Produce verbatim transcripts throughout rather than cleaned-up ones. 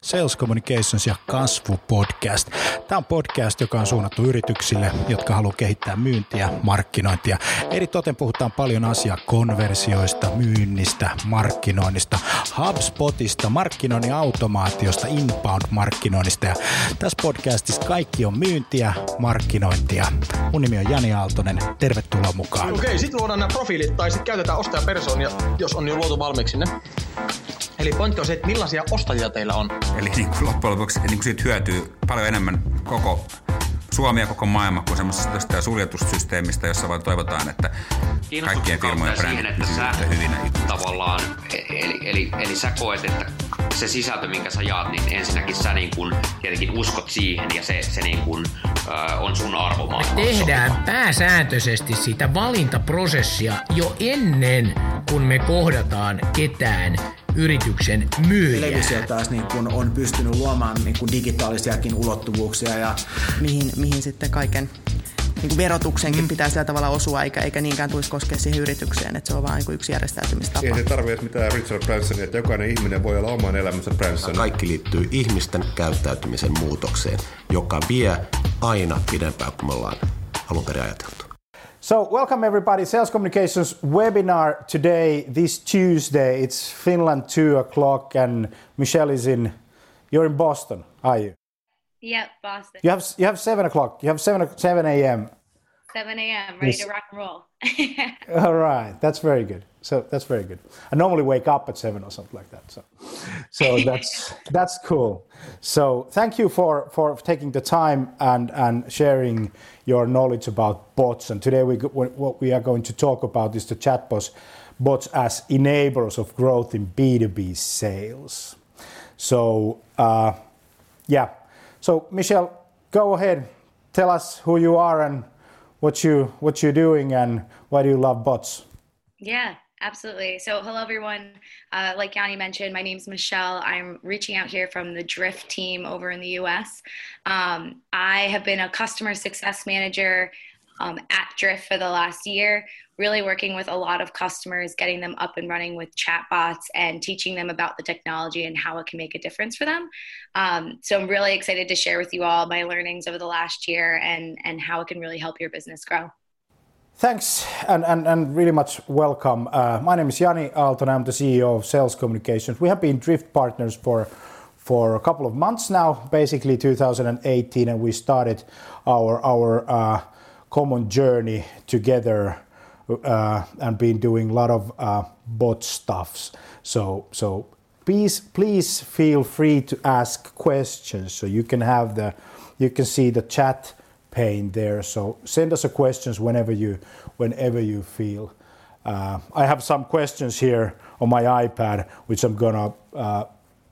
Sales Communications ja kasvu-podcast. Tämä on podcast, joka on suunnattu yrityksille, jotka haluaa kehittää myyntiä, markkinointia. Eritoten puhutaan paljon asiaa konversioista, myynnistä, markkinoinnista, HubSpotista, markkinoinnin automaatiosta, inbound-markkinoinnista. Ja tässä podcastissa kaikki on myyntiä, markkinointia. Mun nimi on Jani Aaltonen. Tervetuloa mukaan. Okei, okay, sitten luodaan nämä profiilit tai sitten käytetään ostajapersoonia, jos on jo luotu valmiiksi ne. Eli pointti on se, että millaisia ostajia teillä on. Eli niin kuin loppujen lopuksi niin kuin siitä hyötyy paljon enemmän koko Suomi ja koko maailma kuin semmoisesta suljetussysteemistä, jossa vaan toivotaan, että kaikkien firmojen brändit pysyvät hyvinä. Tavallaan, eli, eli, eli sä koet, että se sisältö, minkä sä jaat, niin ensinnäkin sä niin kun tietenkin uskot siihen ja se, se niin kun, äh, on sun arvomaailmassa. Me tehdään pääsääntöisesti sitä valintaprosessia jo ennen kuin me kohdataan ketään yrityksen myyjää. Televisio taas niin kun on pystynyt luomaan niin kun digitaalisiakin ulottuvuuksia. Ja mihin, mihin sitten kaiken niin verotuksenkin mm. pitää sillä tavalla osua, eikä, eikä niinkään tulisi koskea siihen yritykseen, että se on vain niin yksi järjestäytymistapa. Ei se tarvitse mitään Richard Bransonia, että jokainen ihminen voi olla oman elämänsä Branson. Kaikki liittyy ihmisten käyttäytymisen muutokseen, joka vie aina pidempään kuin me ollaan alun perin ajateltu. So, welcome everybody. Sales Communications webinar today, this Tuesday. It's Finland two o'clock and Michelle is in, you're in Boston, are you? Yep, Boston. You have you have seven o'clock. You have seven seven a.m. seven a.m. ready yes. to rock and roll. All right, that's very good. So that's very good. I normally wake up at seven or something like that. So, so that's that's cool. So thank you for for taking the time and and sharing your knowledge about bots. And today we what we are going to talk about is the chatbots bots as enablers of growth in B two B sales. So uh, yeah. So Michelle, go ahead. Tell us who you are and what you what you're doing and why do you love bots? Yeah, absolutely. So hello everyone. Uh, like Yanni mentioned, my name's Michelle. I'm reaching out here from the Drift team over in the U S. Um, I have been a customer success manager um, at Drift for the last year, really working with a lot of customers, getting them up and running with chatbots and teaching them about the technology and how it can make a difference for them. Um, so I'm really excited to share with you all my learnings over the last year and, and how it can really help your business grow. Thanks and, and, and really much welcome. Uh, my name is Jani Aaltonen. I'm the C E O of Sales Communications. We have been Drift partners for for a couple of months now, basically two thousand eighteen, and we started our our uh, common journey together uh, and been doing a lot of uh, bot stuffs. So so please please feel free to ask questions. So you can have the you can see the chat pane there. So send us a questions whenever you whenever you feel. Uh, I have some questions here on my iPad, which I'm gonna uh,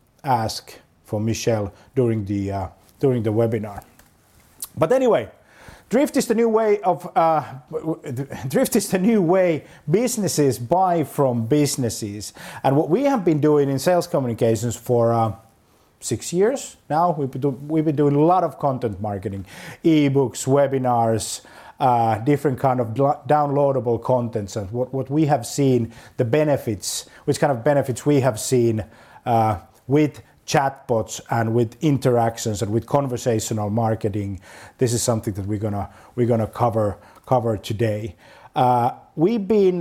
ask for Michelle during the uh, during the webinar. But anyway, Drift is the new way of uh, Drift is the new way businesses buy from businesses, and what we have been doing in Sales Communications for uh, six years now. We've been, do, we've been doing a lot of content marketing, ebooks, webinars, uh, different kind of downloadable contents, and what what we have seen the benefits, which kind of benefits we have seen uh, with chatbots and with interactions and with conversational marketing. This is something that we're gonna we're gonna cover cover today. Uh, we've been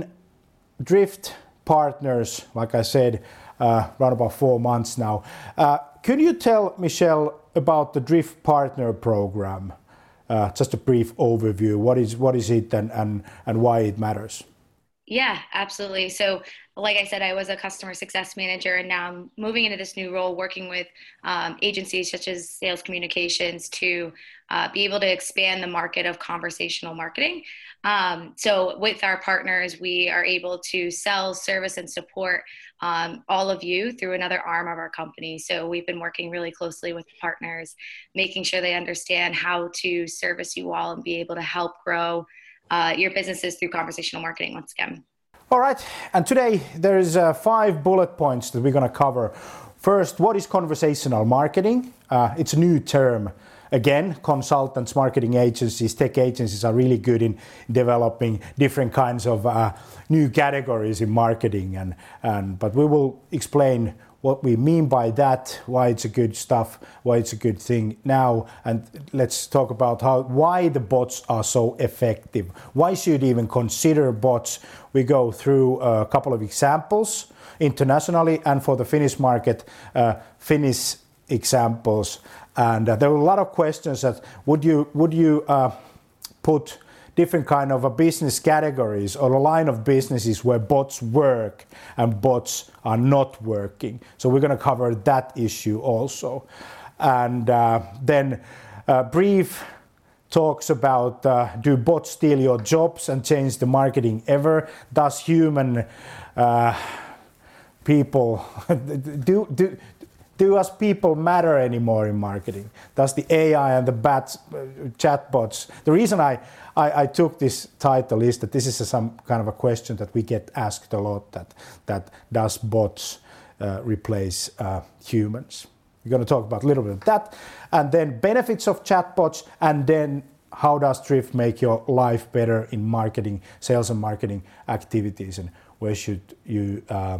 Drift partners, like I said, uh, around about four months now. Uh, could you tell Michelle about the Drift Partner Program? Uh, just a brief overview. What is what is it and and and why it matters? Yeah, absolutely. So like I said, I was a customer success manager, and now I'm moving into this new role working with um, agencies such as Sales Communications to uh, be able to expand the market of conversational marketing. Um, so with our partners, we are able to sell, service, and support um, all of you through another arm of our company. So we've been working really closely with partners, making sure they understand how to service you all and be able to help grow Uh, your businesses through conversational marketing once again. All right, and today there is uh, five bullet points that we're going to cover. First, what is conversational marketing? Uh, it's a new term. Again, consultants, marketing agencies, tech agencies are really good in developing different kinds of uh, new categories in marketing, and, and but we will explain what we mean by that, why it's a good stuff, why it's a good thing now, and let's talk about how why the bots are so effective. Why should you even consider bots? We go through a couple of examples internationally and for the Finnish market, uh, Finnish examples. And uh, there were a lot of questions that would you would you uh, put different kind of a business categories or a line of businesses where bots work and bots are not working. So we're going to cover that issue also. And uh, then uh, brief talks about uh, do bots steal your jobs and change the marketing ever? Does human uh, people do do Do us people matter anymore in marketing? Does the A I and the bats, uh, chatbots? The reason I, I, I took this title is that this is a, some kind of a question that we get asked a lot. That that does bots uh, replace uh, humans? We're going to talk about a little bit of that, and then benefits of chatbots, and then how does Drift make your life better in marketing, sales and marketing activities, and where should you Uh,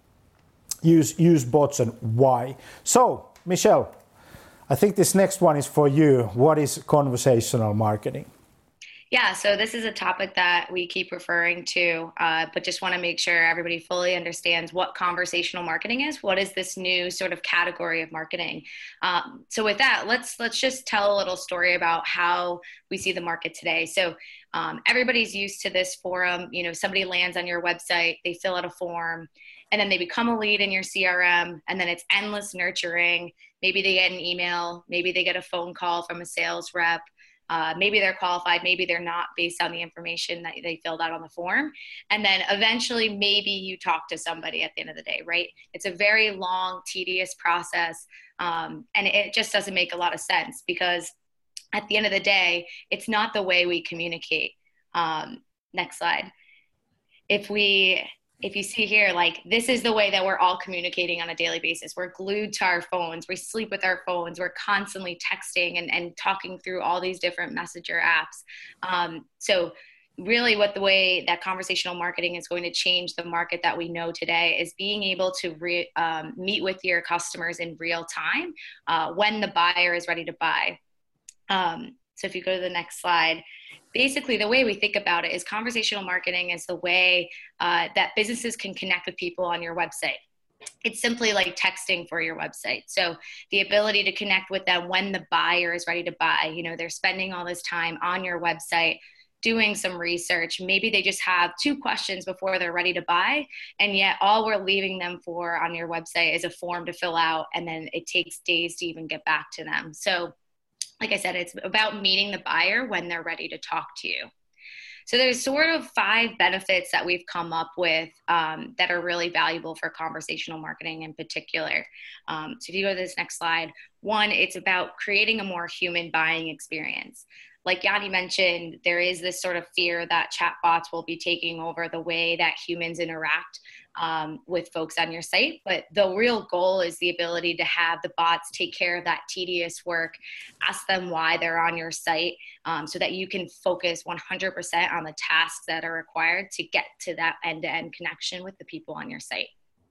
Use use bots and why. So, Michelle, I think this next one is for you. What is conversational marketing? Yeah, so this is a topic that we keep referring to, uh, but just want to make sure everybody fully understands what conversational marketing is. What is this new sort of category of marketing? Um, so with that, let's let's just tell a little story about how we see the market today. So um, everybody's used to this forum. You know, somebody lands on your website, they fill out a form, and then they become a lead in your C R M, and then it's endless nurturing. Maybe they get an email, maybe they get a phone call from a sales rep. Uh, maybe they're qualified, maybe they're not based on the information that they filled out on the form. And then eventually maybe you talk to somebody at the end of the day, right? It's a very long, tedious process. Um, and it just doesn't make a lot of sense because at the end of the day, it's not the way we communicate. Um, next slide. If we... If you see here, like this is the way that we're all communicating on a daily basis. We're glued to our phones. We sleep with our phones. We're constantly texting and, and talking through all these different messenger apps. Um, so really what the way that conversational marketing is going to change the market that we know today is being able to re, um, meet with your customers in real time uh, when the buyer is ready to buy. Um, so if you go to the next slide, basically the way we think about it is conversational marketing is the way uh, that businesses can connect with people on your website. It's simply like texting for your website. So the ability to connect with them when the buyer is ready to buy, you know, they're spending all this time on your website, doing some research. Maybe they just have two questions before they're ready to buy. And yet all we're leaving them for on your website is a form to fill out. And then it takes days to even get back to them. So like I said, it's about meeting the buyer when they're ready to talk to you. So there's sort of five benefits that we've come up with um, that are really valuable for conversational marketing in particular. Um, so if you go to this next slide, one, it's about creating a more human buying experience. Like Yanni mentioned, there is this sort of fear that chatbots will be taking over the way that humans interact um, with folks on your site. But the real goal is the ability to have the bots take care of that tedious work, ask them why they're on your site um, so that you can focus one hundred percent on the tasks that are required to get to that end-to-end connection with the people on your site.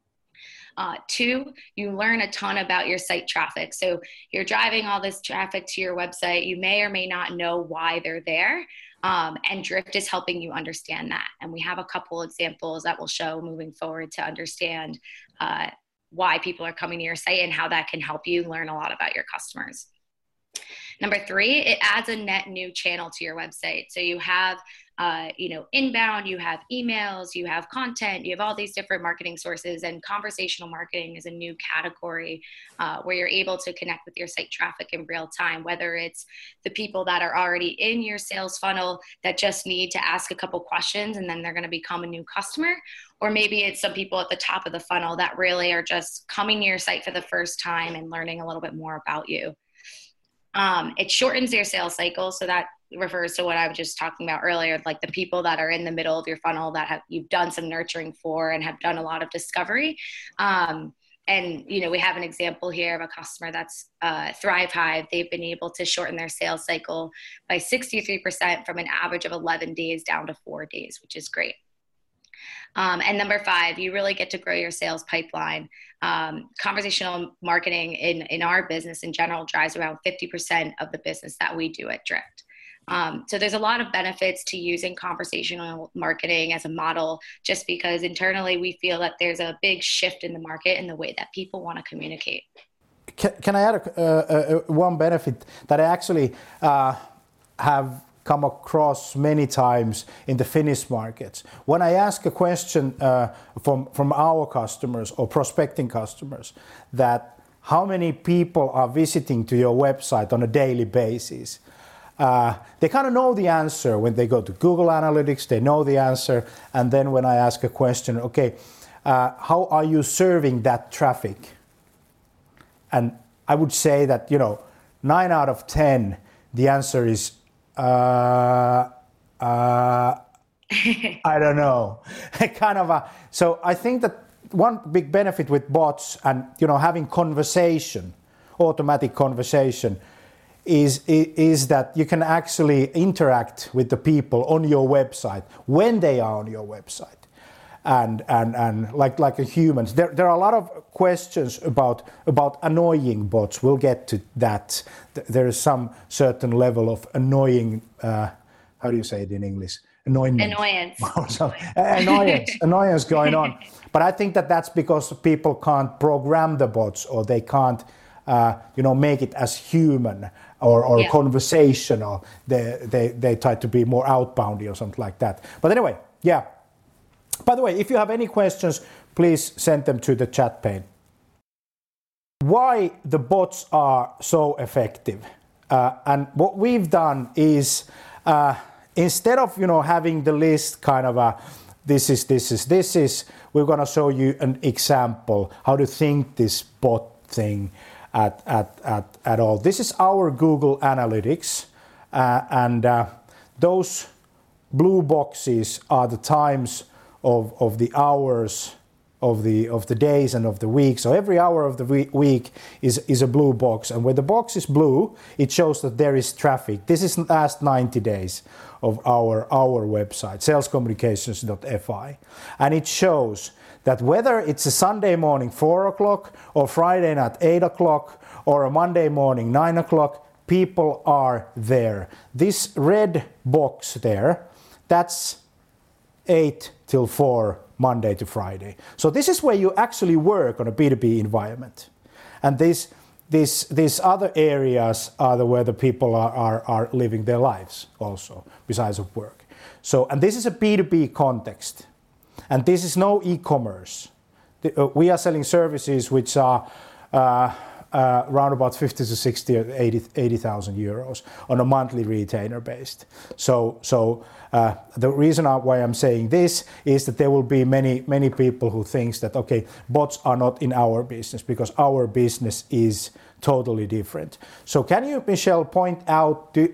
Uh, two, you learn a ton about your site traffic. So you're driving all this traffic to your website. You may or may not know why they're there. Um, and Drift is helping you understand that. And we have a couple examples that we'll show moving forward to understand uh, why people are coming to your site and how that can help you learn a lot about your customers. Number three, it adds a net new channel to your website. So you have, uh, you know, inbound, you have emails, you have content, you have all these different marketing sources, and conversational marketing is a new category uh, where you're able to connect with your site traffic in real time, whether it's the people that are already in your sales funnel that just need to ask a couple questions and then they're going to become a new customer, or maybe it's some people at the top of the funnel that really are just coming to your site for the first time and learning a little bit more about you. Um, it shortens your sales cycle. So that refers to what I was just talking about earlier, like the people that are in the middle of your funnel that have you've done some nurturing for and have done a lot of discovery. Um, and, you know, we have an example here of a customer that's uh, Thrive Hive. They've been able to shorten their sales cycle by sixty-three percent from an average of eleven days down to four days, which is great. Um, and number five, you really get to grow your sales pipeline. Um, conversational marketing in, in our business in general drives around fifty percent of the business that we do at Drift. Um, so there's a lot of benefits to using conversational marketing as a model, just because internally we feel that there's a big shift in the market in the way that people want to communicate. Can, can I add a, uh, uh, one benefit that I actually uh, have come across many times in the Finnish markets? When I ask a question uh, from, from our customers or prospecting customers that how many people are visiting to your website on a daily basis, uh, they kind of know the answer when they go to Google Analytics, they know the answer. And then when I ask a question, okay, uh, how are you serving that traffic? And I would say that, you know, nine out of ten, the answer is Uh, uh, I don't know. kind of a, so I think that one big benefit with bots and, you know, having conversation, automatic conversation, is, is, is that you can actually interact with the people on your website when they are on your website. And, and, and like, like a humans. There, there are a lot of questions about, about annoying bots. We'll get to that. There is some certain level of annoying, uh, how do you say it in English? Annoyance. Annoyance. annoyance. Annoyance going on. But I think that that's because people can't program the bots, or they can't, uh, you know, make it as human or, or yeah. conversational. They, they, they try to be more outboundy or something like that. But anyway, yeah. By the way, if you have any questions, please send them to the chat pane. Why the bots are so effective? Uh, and what we've done is, uh, instead of, you know, having the list kind of a, this is, this is, this is, we're going to show you an example, how to think this bot thing at, at, at, at all. This is our Google Analytics, uh, and uh, those blue boxes are the times Of, of the hours, of the of the days and of the week. So every hour of the week is, is a blue box. And when the box is blue, it shows that there is traffic. This is the last ninety days of our, our website, sales communications dot f i. And it shows that whether it's a Sunday morning, four o'clock, or Friday night, eight o'clock, or a Monday morning, nine o'clock, people are there. This red box there, that's eight till four, Monday to Friday. So this is where you actually work on a B two B environment. And this, this, these other areas are the where the people are, are, are living their lives also, besides of work. So, and this is a B two B context. And this is no e-commerce. The, uh, we are selling services which are uh, uh, around about fifty to sixty or eighty thousand euros on a monthly retainer based. So, so uh, the reason why I'm saying this is that there will be many, many people who thinks that, okay, bots are not in our business because our business is totally different. So can you, Michelle, point out, do,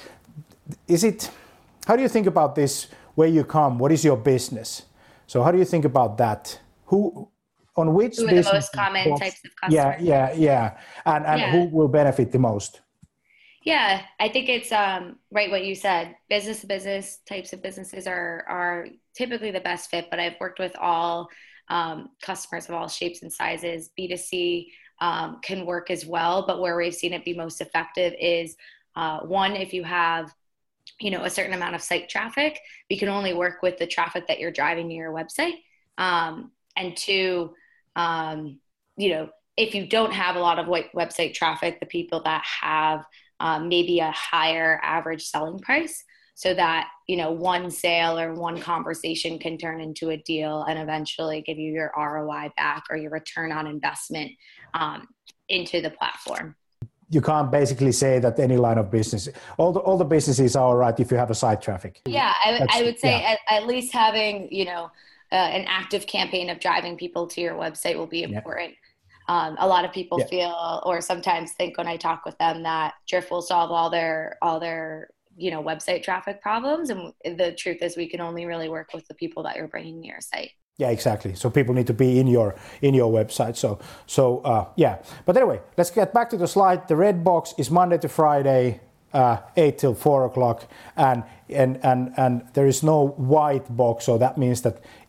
is it, how do you think about this, where you come, what is your business? So how do you think about that? Who, on which who are the most common bots, types of customers? Yeah, yeah, yeah. And, and yeah. who will benefit the most? Yeah, I think it's um, right what you said. Business to business types of businesses are are typically the best fit, but I've worked with all um, customers of all shapes and sizes. B two C um, can work as well, but where we've seen it be most effective is uh, one, if you have you know, a certain amount of site traffic, we can only work with the traffic that you're driving to your website. Um, and two, um, you know, if you don't have a lot of website traffic, the people that have um, maybe a higher average selling price, so that, you know, one sale or one conversation can turn into a deal and eventually give you your R O I back or your return on investment um, into the platform. You can't basically say that any line of business, all the all the businesses are all right if you have a site traffic. Yeah, I, I would say yeah. at, at least having, you know, uh, an active campaign of driving people to your website will be important. Yeah. Um, a lot of people yeah. feel, or sometimes think when I talk with them, that Drift will solve all their all their you know website traffic problems, and the truth is we can only really work with the people that you're bringing to your site. Yeah, exactly. So people need to be in your in your website. So so uh, yeah. But anyway, let's get back to the slide. The red box is Monday to Friday, uh, eight till four o'clock, and and and and there is no white box. So that means that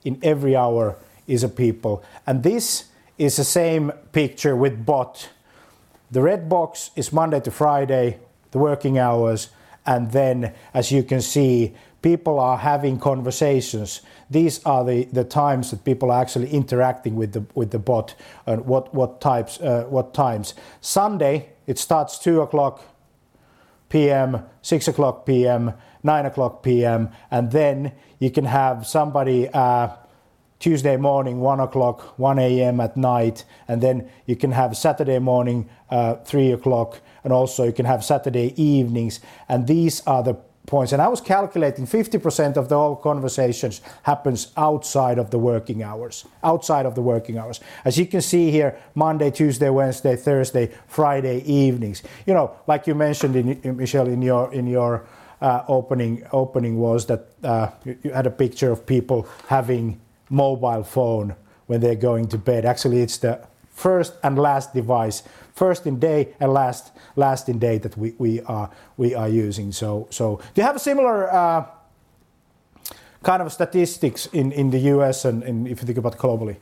in every hour is a people. And this is the same picture with bot. The red box is Monday to Friday, the working hours, and then, as you can see, people are having conversations. These are the, the times that people are actually interacting with the with the bot and what what types uh, what times. Sunday it starts two o'clock p m, six o'clock p m, nine o'clock p m, and then you can have somebody uh, Tuesday morning one o'clock, one a m at night, and then you can have Saturday morning uh, three o'clock, and also you can have Saturday evenings, and these are the points. And I was calculating fifty percent of the whole conversations happens outside of the working hours, outside of the working hours. As you can see here, Monday, Tuesday, Wednesday, Thursday, Friday evenings. You know, like you mentioned, in, in Michelle, in your in your uh, opening opening was that uh, you, you had a picture of people having mobile phone when they're going to bed. Actually, it's the first and last device, first in day and last last in day that we, we are we are using. So so do you have a similar uh, kind of statistics in, in the U S and, and if you think about globally?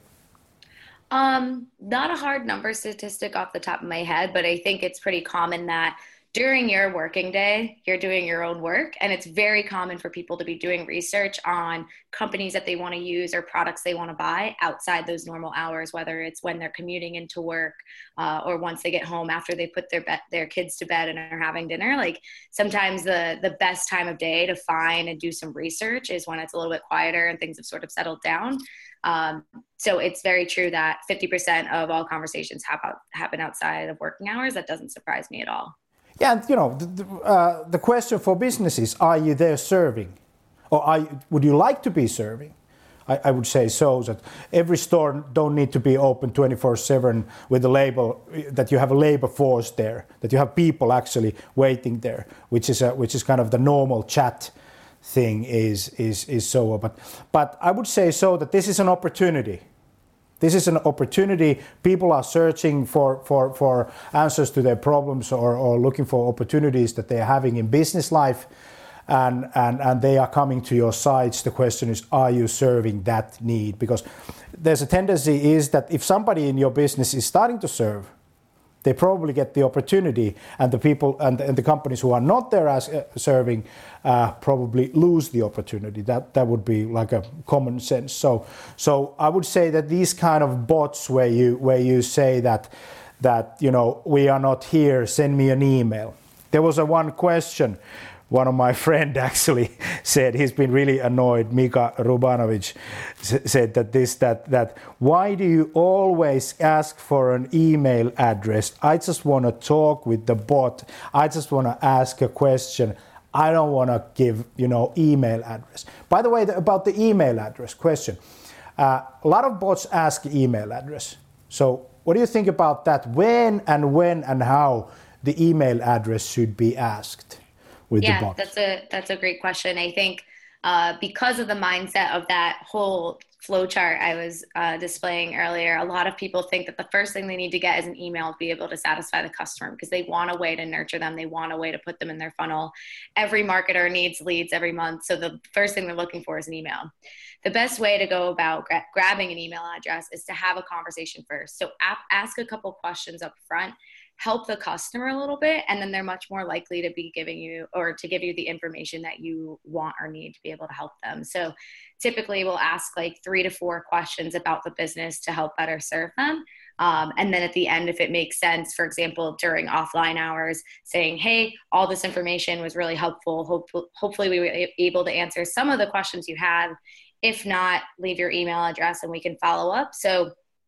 Um, not a hard number statistic off the top of my head, but I think it's pretty common that during your working day, you're doing your own work, and it's very common for people to be doing research on companies that they want to use or products they want to buy outside those normal hours, whether it's when they're commuting into work uh, or once they get home after they put their be- their kids to bed and are having dinner. Like sometimes the the best time of day to find and do some research is when it's a little bit quieter and things have sort of settled down. Um, so it's very true that fifty percent of all conversations have out, happen outside of working hours. That doesn't surprise me at all. Yeah, and you know, the, the, uh, the question for businesses, are you there serving? Or are you, would you like to be serving? I, I would say so, that every store don't need to be open twenty-four seven with a label, that you have a labor force there, that you have people actually waiting there, which is a, which is kind of the normal chat thing is, is, is so. But, but I would say so that this is an opportunity. This is an opportunity. People are searching for, for, for answers to their problems or, or looking for opportunities that they are having in business life, and, and, and they are coming to your sites. The question is, are you serving that need? Because there's a tendency is that if somebody in your business is starting to serve, they probably get the opportunity, and the people and, and the companies who are not there as uh, serving uh, probably lose the opportunity. That that would be like a common sense. So so I would say that these kind of bots where you where you say that that you know we are not here, send me an email. There was a one question. One of my friend actually said he's been really annoyed. Mika Rubanovic said that this, that, that, why do you always ask for an email address? I just want to talk with the bot. I just want to ask a question. I don't want to give, you know, email address. By the way, the, about the email address question, uh, a lot of bots ask email address. So what do you think about that? When and when and how the email address should be asked? Yeah, that's a that's a great question. I think uh, because of the mindset of that whole flowchart I was uh, displaying earlier, a lot of people think that the first thing they need to get is an email to be able to satisfy the customer, because they want a way to nurture them. They want a way to put them in their funnel. Every marketer needs leads every month. So the first thing they're looking for is an email. The best way to go about gra- grabbing an email address is to have a conversation first. So ap- ask a couple questions up front. Help the customer a little bit, and then they're much more likely to be giving you or to give you the information that you want or need to be able to help them. So typically we'll ask like three to four questions about the business to help better serve them. Um, and then at the end, if it makes sense, for example, during offline hours, saying, hey, all this information was really helpful. Hope- hopefully we were able to answer some of the questions you have. If not, leave your email address and we can follow up. So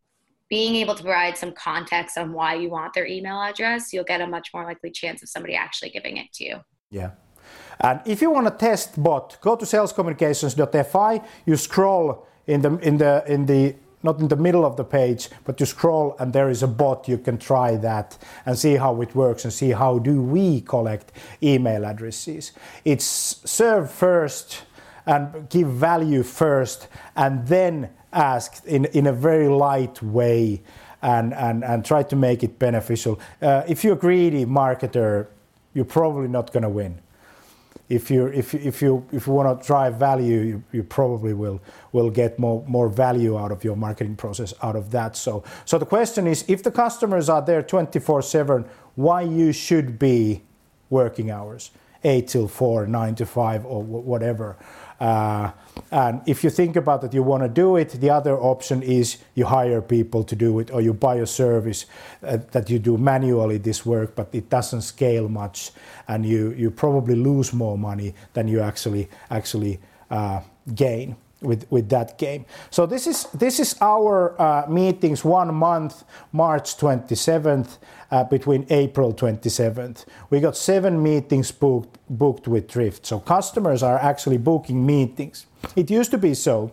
being able to provide some context on why you want their email address, you'll get a much more likely chance of somebody actually giving it to you. Yeah. And if you want to test bot, go to sales communications dot f i. You scroll in the in the in the not in the middle of the page, but you scroll and there is a bot. You can try that and see how it works and see how do we collect email addresses. It's serve first and give value first, and then ask in, in a very light way and, and, and try to make it beneficial. Uh, if you're a greedy marketer, you're probably not going to win. if you if if you if you want to drive value, you, you probably will will get more more value out of your marketing process out of that. So so the question is, if the customers are there twenty-four seven, why you should be working hours, eight till four, nine to five, or whatever. Uh, and if you think about that, you want to do it, the other option is you hire people to do it, or you buy a service uh, that you do manually this work, but it doesn't scale much, and you, you probably lose more money than you actually actually uh, gain with with that game. So this is this is our uh, meetings one month, March twenty-seventh. Uh, between April twenty-seventh. We got seven meetings booked, booked with Drift. So customers are actually booking meetings. It used to be so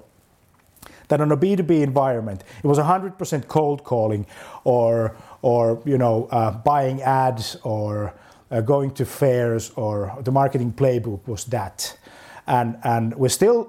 that on a B two B environment, it was one hundred percent cold calling or, or you know, uh, buying ads or uh, going to fairs, or the marketing playbook was that. And, and we still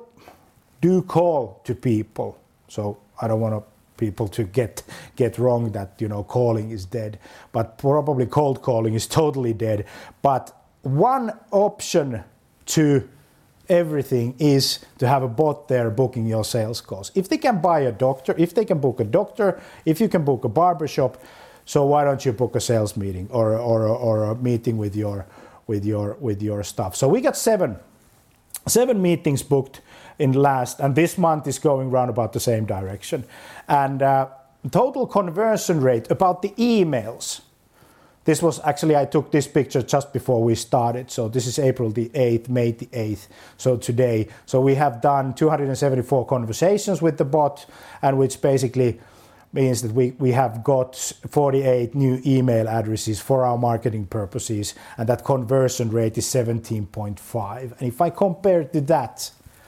do call to people. So I don't want to people to get get wrong that, you know, calling is dead, but probably cold calling is totally dead. But one option to everything is to have a bot there booking your sales calls. If they can buy a doctor, if they can book a doctor, if you can book a barbershop, so why don't you book a sales meeting or or or a meeting with your with your with your staff? So we got seven seven meetings booked in last, and this month is going round about the same direction. And uh, total conversion rate about the emails. This was actually, I took this picture just before we started. So this is April the eighth, May the eighth. So today, so we have done two hundred seventy-four conversations with the bot, and which basically means that we, we have got forty-eight new email addresses for our marketing purposes, and that conversion rate is seventeen point five. And if I compare to that,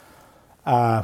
Uh,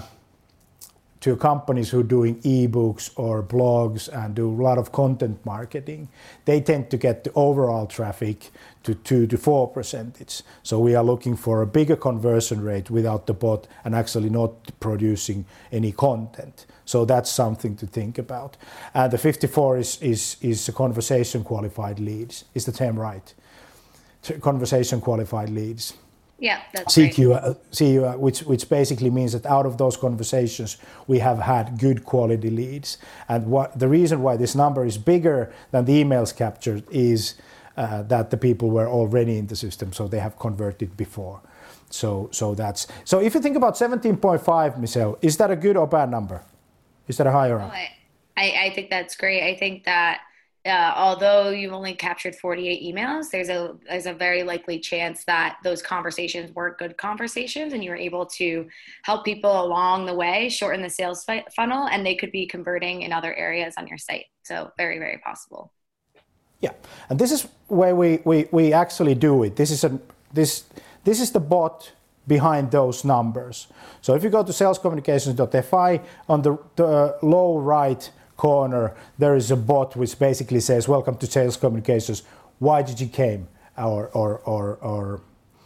to companies who are doing ebooks or blogs and do a lot of content marketing, they tend to get the overall traffic to two to four percentage. So we are looking for a bigger conversion rate without the bot and actually not producing any content. So that's something to think about. And the fifty-four is is is a conversation qualified leads. Is the term right? Conversation qualified leads. Yeah, that's C Q, uh, C Q, uh, which which basically means that out of those conversations we have had good quality leads. And what the reason why this number is bigger than the emails captured is uh, that the people were already in the system, so they have converted before. So so that's so. If you think about seventeen point five, Michelle, is that a good or bad number? Is that a higher? Oh, I I think that's great. I think that. Uh, although you've only captured forty-eight emails, there's a there's a very likely chance that those conversations were good conversations, and you were able to help people along the way, shorten the sales fi- funnel, and they could be converting in other areas on your site. So very, very possible. Yeah, and this is where we we, we actually do it. This is a this this is the bot behind those numbers. So if you go to sales communications dot f i, on the, the uh, low right corner, there is a bot which basically says, "Welcome to Sales Communications. Why did you came?" Or, or, or, or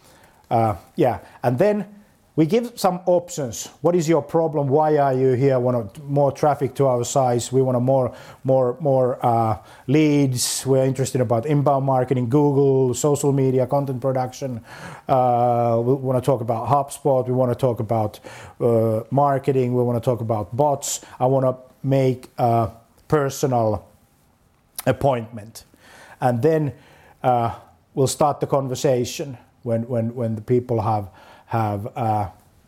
uh, yeah. And then we give some options. What is your problem? Why are you here? Want more traffic to our sites? We want a more, more, more uh, leads. We're interested about inbound marketing, Google, social media, content production. Uh, we want to talk about HubSpot. We want to talk about uh, marketing. We want to talk about bots. I want to make a personal appointment, and then uh, we'll start the conversation when when when the people have have uh,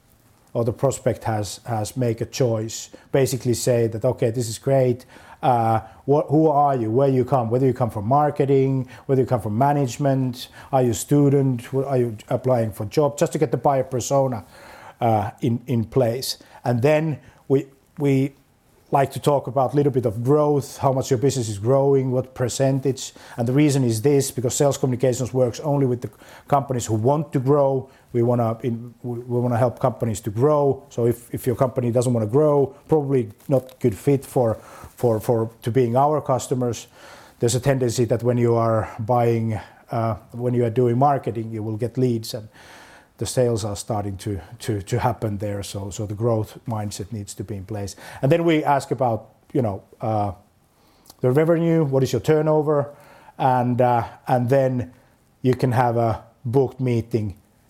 or the prospect has has make a choice. Basically, say that okay, this is great. Uh, what, who are you? Where you come? Whether you come from marketing, whether you come from management, are you a student? Are you applying for a job? Just to get the buyer persona uh, in in place, and then we we. like to talk about a little bit of growth, how much your business is growing, what percentage. And the reason is this, because sales communications works only with the companies who want to grow. We want to we want to help companies to grow. So if, if your company doesn't want to grow, probably not good fit for, for, for to being our customers. There's a tendency that when you are buying, uh, when you are doing marketing, you will get leads, and the sales are starting to, to, to happen there. So, so the growth mindset needs to be in place. And then we ask about, you know, uh, the revenue, what is your turnover? And, uh, and then you can have a booked meeting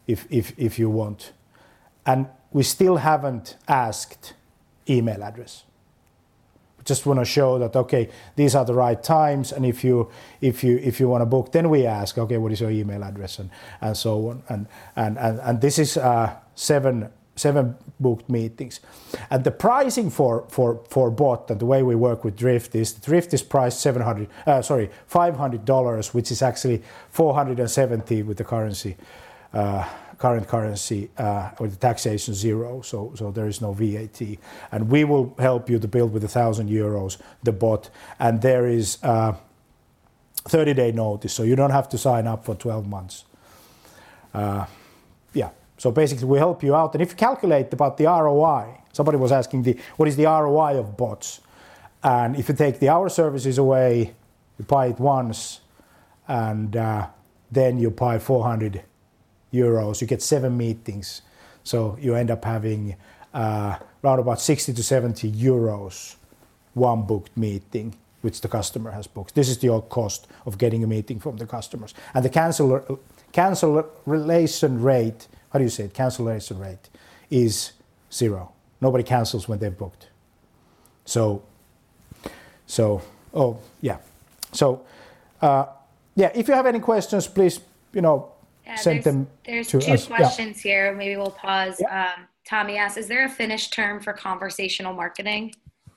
if, if, if you want. And we still haven't asked email address. We just want to show that, okay, these are the right times, and if you if you if you want to book, then we ask, okay, what is your email address, and, and so on. And and, and, and this is uh, seven seven booked meetings. And the pricing for, for, for bot and the way we work with Drift is Drift is priced seven hundred uh, sorry five hundred dollars, which is actually four hundred seventy with the currency. Uh, current currency uh, with the taxation zero, so so there is no V A T, and we will help you to build with a thousand euros the bot, and there is uh, thirty day notice, so you don't have to sign up for twelve months. Uh, yeah, so basically we help you out, and if you calculate about the R O I, somebody was asking the what is the R O I of bots, and if you take the hour services away, you buy it once, and uh, then you buy four hundred euros, you get seven meetings, so you end up having uh, around about sixty to seventy euros one booked meeting which the customer has booked. This is the old cost of getting a meeting from the customers, and the cancel cancellation rate, how do you say it, cancellation rate is zero. Nobody cancels when they've booked. So so oh yeah so uh, yeah if you have any questions, please, you know, Yeah, send there's, them there's to two us. questions yeah. here. Maybe we'll pause. Yeah. Um, Tommy asks, is there a Finnish term for conversational marketing?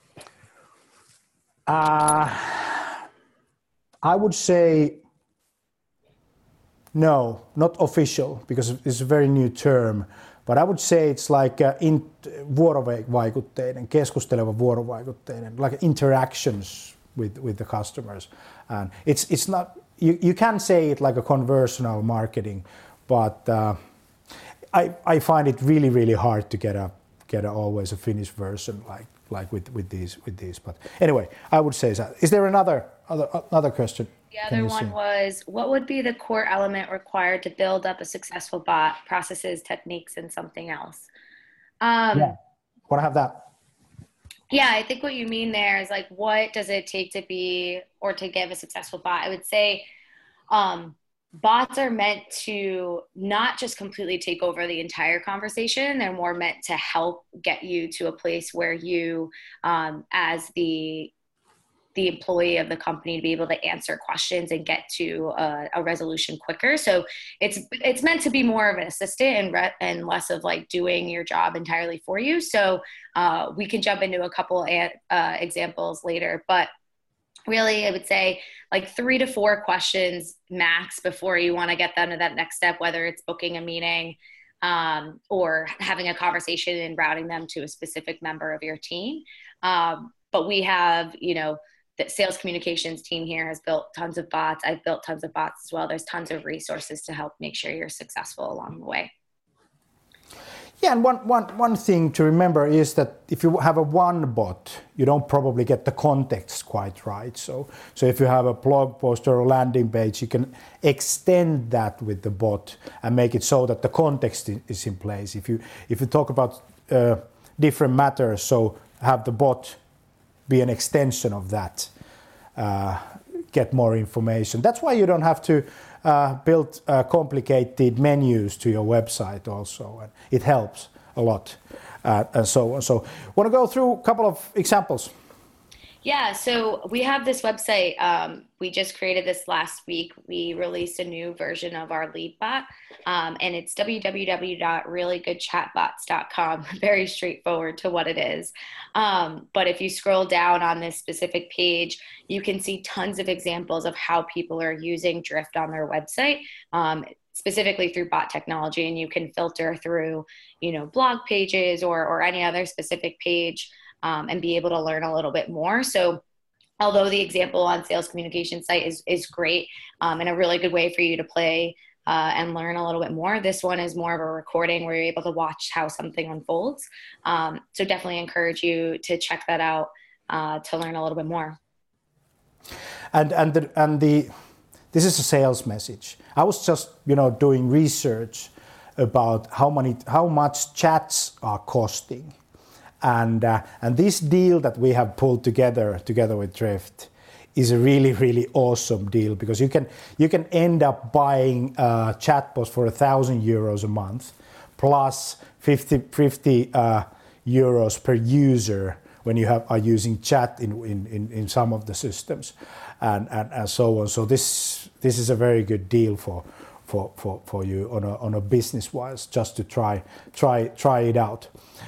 Uh, I would say no, not official, because it's a very new term. But I would say it's like uh, in, vuorovaikutteinen, keskusteleva vuorovaikutteinen, like interactions with, with the customers. And it's it's not. You, you can say it like a conversational marketing, but uh, I I find it really really hard to get a get a, always a Finnish version like like with, with these with these. But anyway, I would say that. Is there another other another question? The other one see? was, what would be the core element required to build up a successful bot? Processes, techniques, and something else. Um, yeah, want to have that. Yeah, I think what you mean there is like, what does it take to be or to give a successful bot? I would say um, bots are meant to not just completely take over the entire conversation. They're more meant to help get you to a place where you, um, as the the employee of the company, to be able to answer questions and get to a, a resolution quicker. So it's it's meant to be more of an assistant and re- and less of like doing your job entirely for you. So uh, we can jump into a couple of, uh, examples later, but really I would say like three to four questions max before you want to get them to that next step, whether it's booking a meeting um, or having a conversation and routing them to a specific member of your team. Um, but we have, you know, the sales communications team here has built tons of bots. I've built tons of bots as well. There's tons of resources to help make sure you're successful along the way. Yeah, and one, one, one thing to remember is that if you have a one bot, you don't probably get the context quite right. So, so if you have a blog post or a landing page, you can extend that with the bot and make it so that the context is in place. If you if you talk about uh, different matters, so have the bot be an extension of that, uh, get more information. That's why you don't have to uh, build uh, complicated menus to your website also. And it helps a lot uh, and so on. So want to go through a couple of examples? Yeah, so we have this website. Um, we just created this last week. We released a new version of our lead bot, um, and it's w w w dot really good chat bots dot com. Very straightforward to what it is. Um, but if you scroll down on this specific page, you can see tons of examples of how people are using Drift on their website, um, specifically through bot technology, and you can filter through, you know, blog pages or or any other specific page. Um, and be able to learn a little bit more. So although the example on sales communication site is, is great um, and a really good way for you to play uh, and learn a little bit more, this one is more of a recording where you're able to watch how something unfolds. Um, so definitely encourage you to check that out uh, to learn a little bit more. And and the, and the this is a sales message. I was just, you know, doing research about how many how much chats are costing. And uh, and this deal that we have pulled together together with Drift is a really, really awesome deal because you can you can end up buying uh, chatbots for a thousand euros a month plus fifty, fifty uh, euros per user when you have are using chat in, in, in, in some of the systems and, and, and so on. So this this is a very good deal for for, for, for you on a on a business wise just to try try try it out.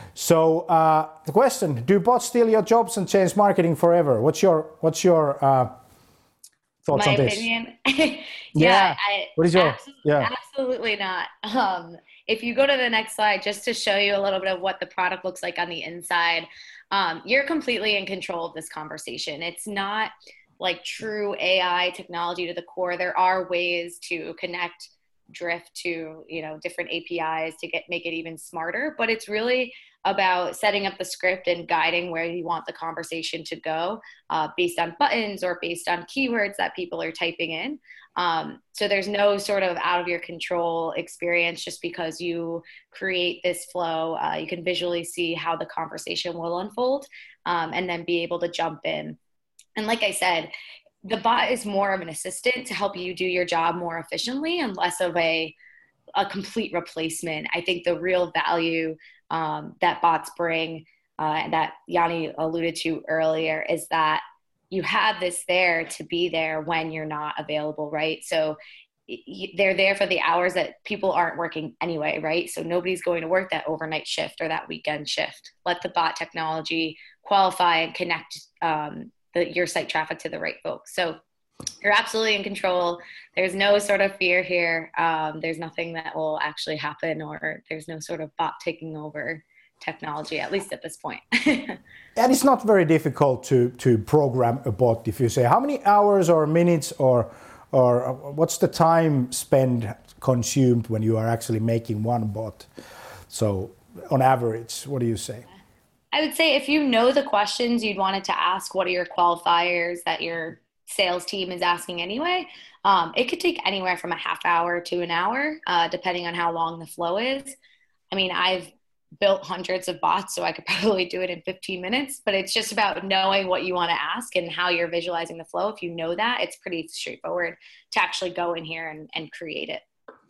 So uh, the question: do bots steal your jobs and change marketing forever? What's your what's your uh, thoughts My on this? opinion? yeah. yeah. I, what is your absolutely, yeah? Absolutely not. Um, if you go to the next slide, just to show you a little bit of what the product looks like on the inside, um, you're completely in control of this conversation. It's not like true A I technology to the core. There are ways to connect Drift to, you know, different A P Is to get make it even smarter, but it's really about setting up the script and guiding where you want the conversation to go uh, based on buttons or based on keywords that people are typing in. Um, so there's no sort of out of your control experience just because you create this flow. Uh, you can visually see how the conversation will unfold um, and then be able to jump in. And like I said, the bot is more of an assistant to help you do your job more efficiently and less of a, a complete replacement. I think the real value um, that bots bring, uh, and that Yanni alluded to earlier, is that you have this there to be there when you're not available, right? So they're there for the hours that people aren't working anyway, right? So nobody's going to work that overnight shift or that weekend shift. Let the bot technology qualify and connect um, the, your site traffic to the right folks. So you're absolutely in control. There's no sort of fear here. Um, there's nothing that will actually happen, or there's no sort of bot taking over technology, at least at this point. And it's not very difficult to, to program a bot. If you say how many hours or minutes or or what's the time spent consumed when you are actually making one bot? So on average, what do you say? I would say if you know the questions you'd want it to ask, what are your qualifiers that your sales team is asking anyway, um, it could take anywhere from a half hour to an hour, uh, depending on how long the flow is. I mean, I've built hundreds of bots, so I could probably do it in fifteen minutes, but it's just about knowing what you want to ask and how you're visualizing the flow. If you know that, it's pretty straightforward to actually go in here and, and create it.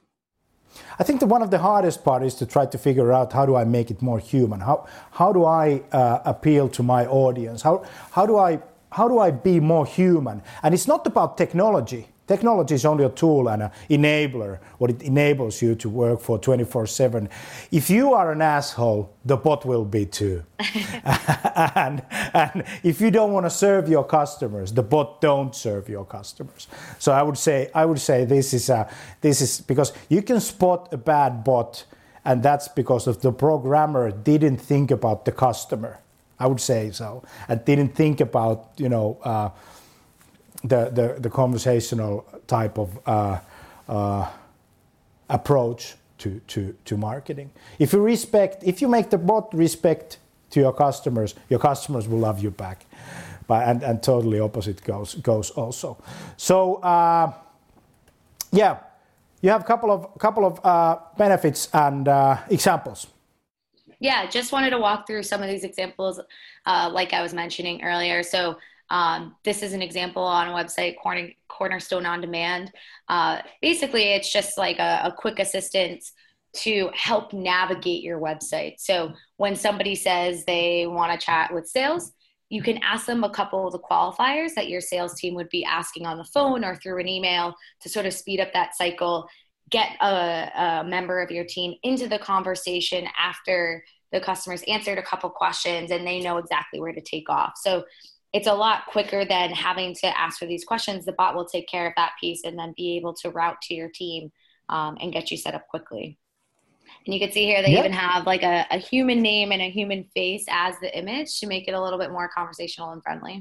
I think that one of the hardest part is to try to figure out how do I make it more human? How how do I uh, appeal to my audience? How how do I how do I be more human? And it's not about technology. Technology is only a tool and an enabler. What it enables you to work for twenty-four seven. If you are an asshole, the bot will be too. and, and if you don't want to serve your customers, the bot don't serve your customers. So I would say I would say this is a, this is because you can spot a bad bot, and that's because of the programmer didn't think about the customer. I would say so, and didn't think about you know. Uh, The, the, the conversational type of uh, uh, approach to, to, to marketing. If you respect, if you make the bot respect to your customers, your customers will love you back. But, and, and totally opposite goes, goes also. So, uh, yeah, you have a couple of, couple of uh, benefits and uh, examples. Yeah, just wanted to walk through some of these examples uh, like I was mentioning earlier. So Um, this is an example on a website, Corner, Cornerstone On Demand. Uh, basically, it's just like a, a quick assistance to help navigate your website. So when somebody says they want to chat with sales, you can ask them a couple of the qualifiers that your sales team would be asking on the phone or through an email to sort of speed up that cycle, get a, a member of your team into the conversation after the customers answered a couple questions and they know exactly where to take off. So it's a lot quicker than having to ask for these questions. The bot will take care of that piece and then be able to route to your team um, and get you set up quickly. And you can see here they yep. even have like a, a human name and a human face as the image to make it a little bit more conversational and friendly.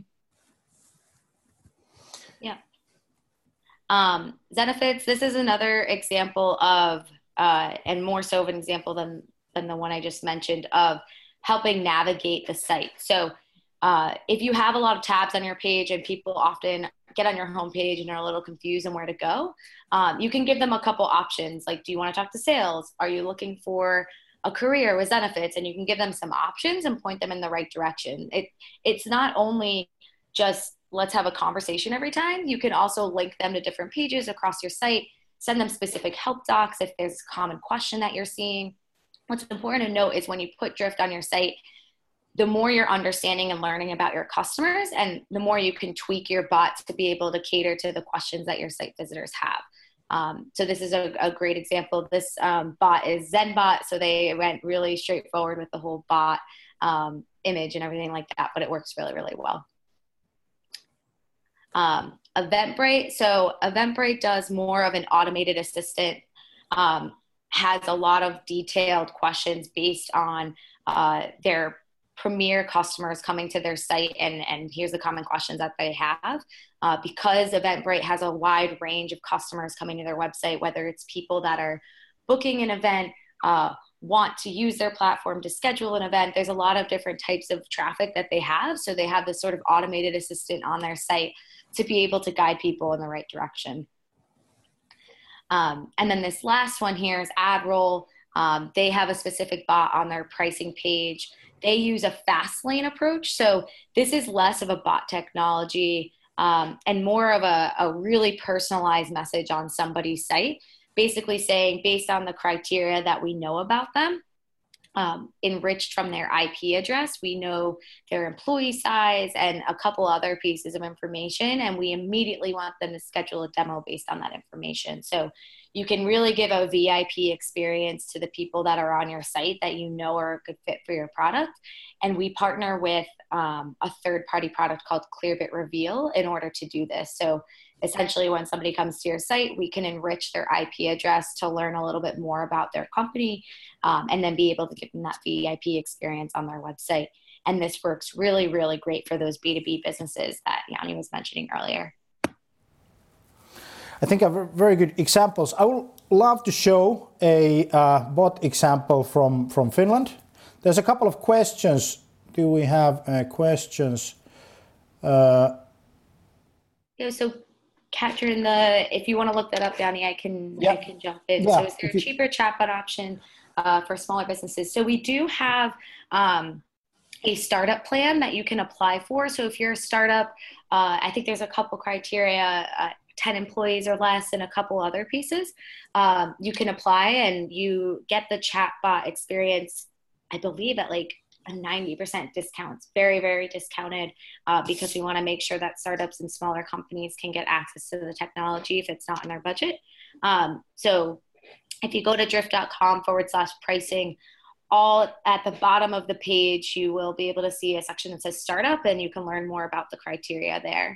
Yeah. Um, Zenefits, this is another example of, uh, and more so of an example than, than the one I just mentioned, of helping navigate the site. So Uh, if you have a lot of tabs on your page and people often get on your homepage and are a little confused on where to go, um, you can give them a couple options. Like, do you want to talk to sales? Are you looking for a career with Zenefits? And you can give them some options and point them in the right direction. It It's not only just let's have a conversation every time. You can also link them to different pages across your site, send them specific help docs if there's a common question that you're seeing. What's important to note is when you put Drift on your site, the more you're understanding and learning about your customers, and the more you can tweak your bot to be able to cater to the questions that your site visitors have. Um, so this is a, a great example. This um, bot is ZenBot, so they went really straightforward with the whole bot um, image and everything like that, but it works really, really well. Um, Eventbrite. So Eventbrite does more of an automated assistant, um, has a lot of detailed questions based on uh, their premier customers coming to their site, and, and here's the common questions that they have. Uh, because Eventbrite has a wide range of customers coming to their website, whether it's people that are booking an event, uh, want to use their platform to schedule an event, there's a lot of different types of traffic that they have. So they have this sort of automated assistant on their site to be able to guide people in the right direction. Um, and then this last one here is AdRoll. Um, they have a specific bot on their pricing page. They use a fast lane approach. So this is less of a bot technology um, and more of a, a really personalized message on somebody's site, basically saying based on the criteria that we know about them, um, enriched from their I P address, we know their employee size and a couple other pieces of information, and we immediately want them to schedule a demo based on that information. So you can really give a V I P experience to the people that are on your site that you know are a good fit for your product. And we partner with um, a third-party product called Clearbit Reveal in order to do this. So essentially, when somebody comes to your site, we can enrich their I P address to learn a little bit more about their company, um, and then be able to give them that V I P experience on their website. And this works really, really great for those B two B businesses that Yanni was mentioning earlier. I think are very good examples. I would love to show a uh, bot example from, from Finland. There's a couple of questions. Do we have uh, questions? Uh, yeah, so Catherine, the if you want to look that up, Yanni, I can yeah. I can jump in. Yeah, so is there a cheaper chatbot option uh, for smaller businesses? So we do have um, a startup plan that you can apply for. So if you're a startup, uh, I think there's a couple criteria. Uh, ten employees or less and a couple other pieces, um, you can apply and you get the chatbot experience, I believe at like a ninety percent discount. It's very, very discounted uh, because we want to make sure that startups and smaller companies can get access to the technology if it's not in their budget. Um, so if you go to drift.com forward slash pricing, all at the bottom of the page, you will be able to see a section that says startup, and you can learn more about the criteria there.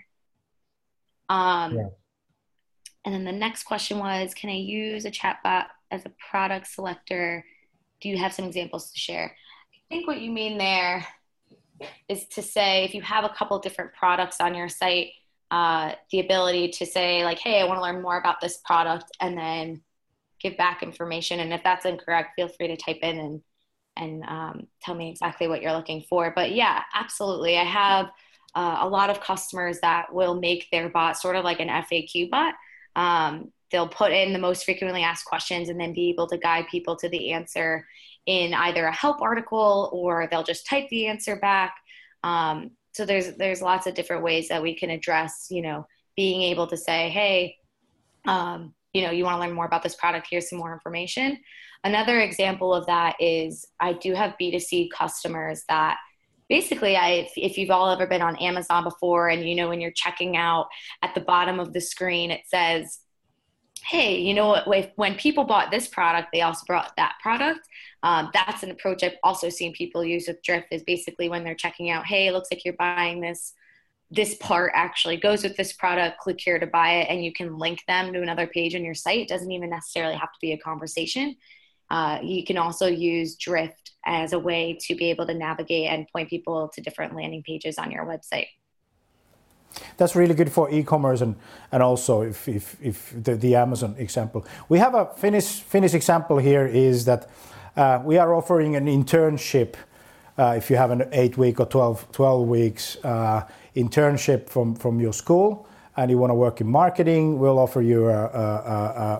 Um, yeah. And then the next question was, can I use a chatbot as a product selector? Do you have some examples to share? I think what you mean there is to say, if you have a couple different products on your site, uh, the ability to say like, hey, I want to learn more about this product, and then give back information. And if that's incorrect, feel free to type in and, and um, tell me exactly what you're looking for. But yeah, absolutely. I have uh, a lot of customers that will make their bot sort of like an F A Q bot. Um, they'll put in the most frequently asked questions and then be able to guide people to the answer in either a help article, or they'll just type the answer back. Um, so there's, there's lots of different ways that we can address, you know, being able to say, hey, um, you know, you want to learn more about this product, here's some more information. Another example of that is I do have B two C customers that basically, I, if, if you've all ever been on Amazon before, and you know when you're checking out, at the bottom of the screen it says, hey, you know what, if, when people bought this product, they also bought that product. Um, that's an approach I've also seen people use with Drift, is basically when they're checking out, hey, it looks like you're buying this, this part actually goes with this product, click here to buy it, and you can link them to another page on your site. It doesn't even necessarily have to be a conversation. Uh, you can also use Drift as a way to be able to navigate and point people to different landing pages on your website. That's really good for e-commerce, and, and also if, if, if the, the Amazon example. We have a Finnish, Finnish example here is that uh, we are offering an internship uh, if you have an eight week or twelve, twelve weeks uh, internship from, from your school and you want to work in marketing. We'll offer you a, a, a,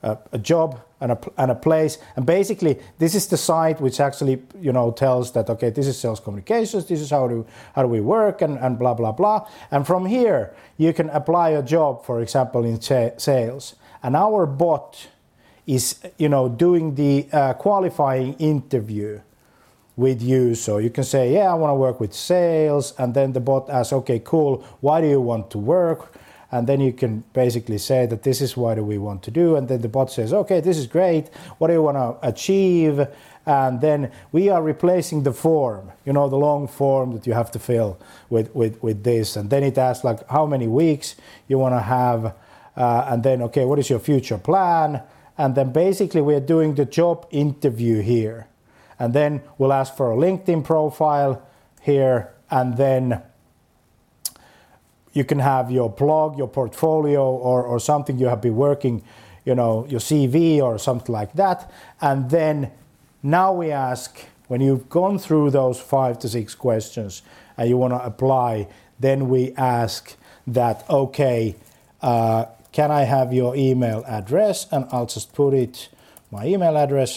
a, a job and a, and a place. And basically, this is the site which actually, you know, tells that, okay, this is sales communications, this is how do, how do we work, and, and blah, blah, blah. And from here, you can apply a job, for example, in cha- sales. And our bot is, you know, doing the uh, qualifying interview with you. So you can say, yeah, I want to work with sales. And then the bot asks, okay, cool, why do you want to work? And then you can basically say that this is what do we want to do. And then the bot says, okay, this is great. What do you want to achieve? And then we are replacing the form, you know, the long form that you have to fill with, with, with this. And then it asks like how many weeks you want to have. Uh, and then, okay, what is your future plan? And then basically we're doing the job interview here. And then we'll ask for a LinkedIn profile here. And then you can have your blog, your portfolio, or, or something you have been working, you know, your C V or something like that. And then now we ask, when you've gone through those five to six questions and you want to apply, then we ask that, okay, uh, can I have your email address? And I'll just put it, my email address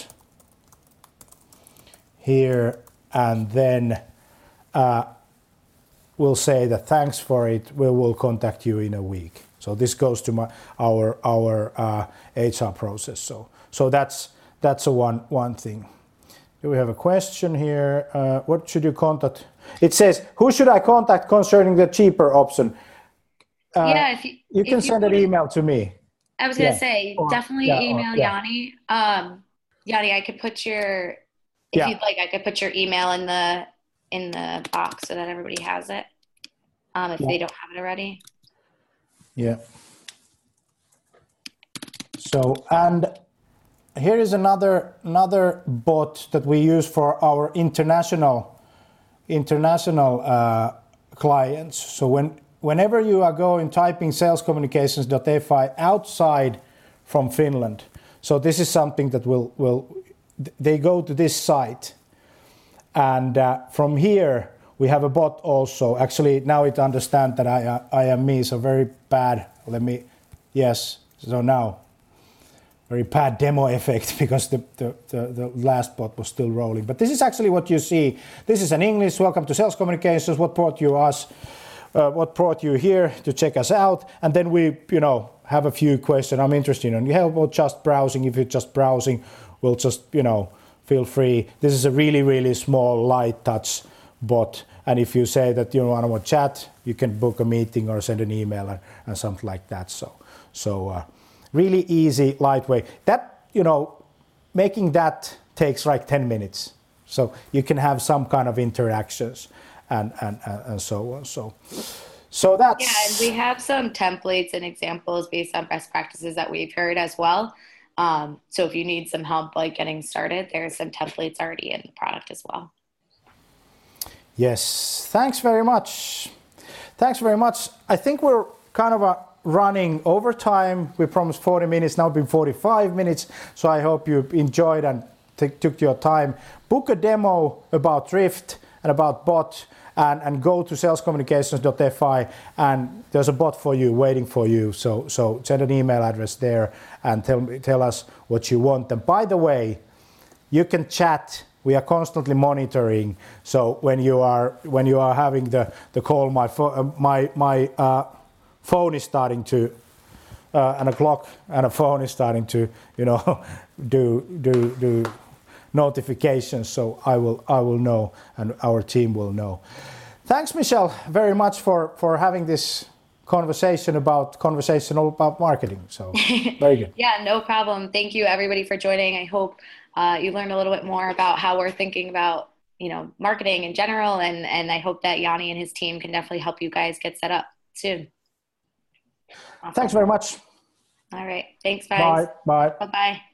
here, and then uh, we'll say that thanks for it, we will contact you in a week. So this goes to my, our our uh, H R process. So so that's that's a one one thing. Do we have a question here? Uh, what should you contact? It says, who should I contact concerning the cheaper option? Uh, yeah, if you, you if can you send an email to me. I was gonna Yeah. say Or- definitely yeah, or- email yeah. Yanni. Um, Yanni, I could put your if Yeah. you'd like, I could put your email in the in the box so that everybody has it. Um, if Yeah. they don't have it already. Yeah. So, and here is another another bot that we use for our international international uh, clients. So when whenever you are going typing salescommunications.fi outside from Finland, so this is something that will will they go to this site, and uh, from here we have a bot also. Actually, now it understands that I uh, I am me, so very bad. Let me, yes. So now, very bad demo effect because the, the, the, the last bot was still rolling. But this is actually what you see. This is an English. Welcome to Sales Communications. What brought you us? Uh, what brought you here to check us out? And then we, you know, have a few questions. I'm interested in help or just browsing. If you're just browsing, we'll just, you know, feel free. This is a really, really small, light touch bot. And if you say that you want to chat, you can book a meeting or send an email and, and something like that. So, so uh, really easy, lightweight. That, you know, making that takes like ten minutes. So you can have some kind of interactions and, and, and, and so on. So, so that's... Yeah, and we have some templates and examples based on best practices that we've heard as well. Um, so if you need some help like getting started, there's some templates already in the product as well. Yes, thanks very much. Thanks very much. I think we're kind of a running overtime. We promised forty minutes, now been forty-five minutes. So I hope you enjoyed and t- took your time. Book a demo about Drift and about bot and, and go to salescommunications.fi and there's a bot for you, waiting for you. So so send an email address there and tell, tell us what you want. And by the way, you can chat. We are constantly monitoring. So when you are when you are having the, the call, my fo- uh, my my uh, phone is starting to, uh, and a clock and a phone is starting to, you know, do do do notifications. So I will I will know, and our team will know. Thanks, Michelle, very much for for having this conversation about conversational about marketing. So very good. Yeah, no problem. Thank you everybody for joining. I hope uh, you learned a little bit more about how we're thinking about, you know, marketing in general. And, and I hope that Yanni and his team can definitely help you guys get set up soon. Awesome. Thanks very much. All right. Thanks, guys. Bye. Bye. Bye-bye.